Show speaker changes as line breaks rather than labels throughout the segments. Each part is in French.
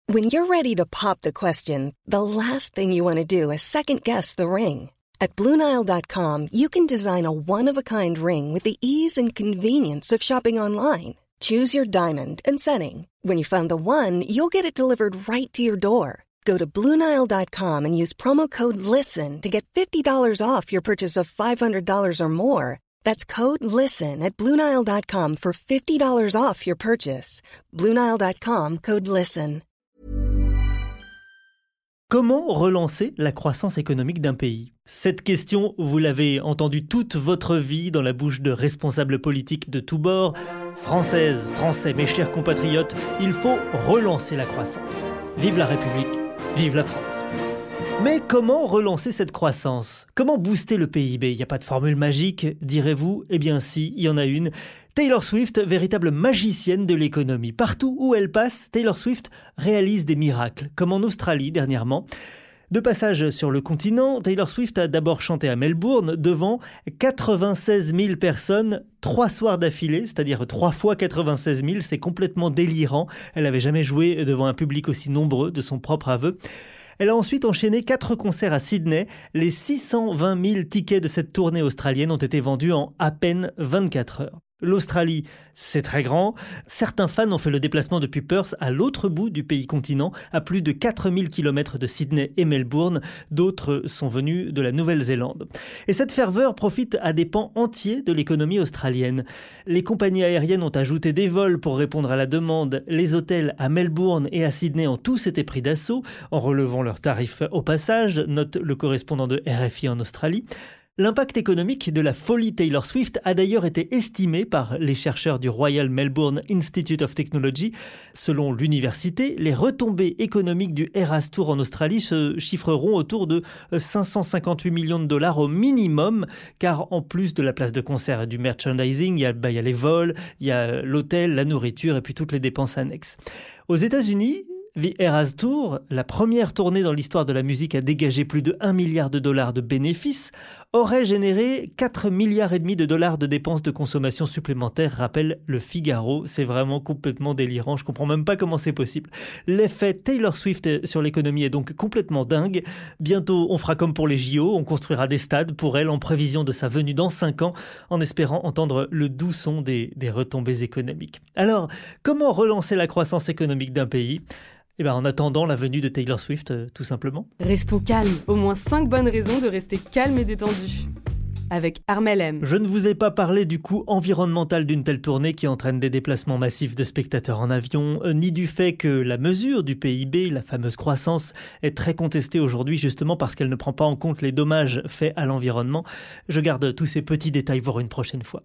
When you're ready to pop the question, the last thing you want to do is second-guess the ring. At BlueNile.com, you can design a one-of-a-kind ring with the ease and convenience of shopping online. Choose your diamond and setting. When you find the one, you'll get it delivered right to your door. Go to BlueNile.com and use promo code LISTEN to get $50 off your purchase of $500 or more. That's code LISTEN at BlueNile.com for $50 off your purchase. BlueNile.com, code LISTEN.
Comment relancer la croissance économique d'un pays ? Cette question, vous l'avez entendue toute votre vie dans la bouche de responsables politiques de tous bords. Françaises, Français, mes chers compatriotes, il faut relancer la croissance. Vive la République, vive la France. Mais comment relancer cette croissance ? Comment booster le PIB ? Il n'y a pas de formule magique, direz-vous ? Eh bien si, il y en a une. Taylor Swift, véritable magicienne de l'économie. Partout où elle passe, Taylor Swift réalise des miracles, comme en Australie dernièrement. De passage sur le continent, Taylor Swift a d'abord chanté à Melbourne devant 96 000 personnes, 3 soirs d'affilée, c'est-à-dire 3 fois 96 000, c'est complètement délirant. Elle n'avait jamais joué devant un public aussi nombreux, de son propre aveu. Elle a ensuite enchaîné 4 concerts à Sydney. Les 620 000 tickets de cette tournée australienne ont été vendus en à peine 24 heures. L'Australie, c'est très grand. Certains fans ont fait le déplacement depuis Perth à l'autre bout du pays continent, à plus de 4000 km de Sydney et Melbourne. D'autres sont venus de la Nouvelle-Zélande. Et cette ferveur profite à des pans entiers de l'économie australienne. Les compagnies aériennes ont ajouté des vols pour répondre à la demande. Les hôtels à Melbourne et à Sydney ont tous été pris d'assaut, en relevant leurs tarifs au passage, note le correspondant de RFI en Australie. L'impact économique de la folie Taylor Swift a d'ailleurs été estimé par les chercheurs du Royal Melbourne Institute of Technology. Selon l'université, les retombées économiques du Eras Tour en Australie se chiffreront autour de 558 millions de dollars au minimum, car en plus de la place de concert et du merchandising, il y a les vols, il y a l'hôtel, la nourriture et puis toutes les dépenses annexes. Aux États-Unis, The Eras Tour, la première tournée dans l'histoire de la musique à dégager plus de 1 milliard de dollars de bénéfices, aurait généré 4 milliards et demi de dollars de dépenses de consommation supplémentaires, rappelle le Figaro. C'est vraiment complètement délirant, je comprends même pas comment c'est possible. L'effet Taylor Swift sur l'économie est donc complètement dingue. Bientôt, on fera comme pour les JO, on construira des stades pour elle en prévision de sa venue dans 5 ans, en espérant entendre le doux son des retombées économiques. Alors, comment relancer la croissance économique d'un pays ? En attendant la venue de Taylor Swift, tout simplement.
Restons calmes, au moins 5 bonnes raisons de rester calme et détendu. Avec Armel M.
Je ne vous ai pas parlé du coût environnemental d'une telle tournée qui entraîne des déplacements massifs de spectateurs en avion, ni du fait que la mesure du PIB, la fameuse croissance, est très contestée aujourd'hui justement parce qu'elle ne prend pas en compte les dommages faits à l'environnement. Je garde tous ces petits détails pour une prochaine fois.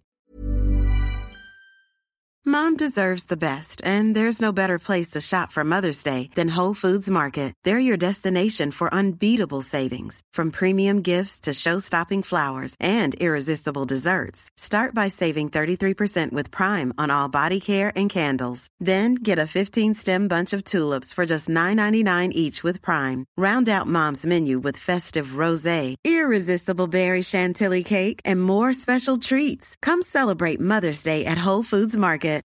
Mom deserves the best, and there's no better place to shop for Mother's Day than Whole Foods Market. They're your destination for unbeatable savings, from premium gifts to show-stopping flowers and irresistible desserts. Start by saving 33% with Prime on all body care and candles. Then get a 15-stem bunch of tulips for just $9.99 each with Prime. Round out Mom's menu with festive rosé, irresistible berry chantilly cake, and more special treats. Come celebrate Mother's Day at Whole Foods Market.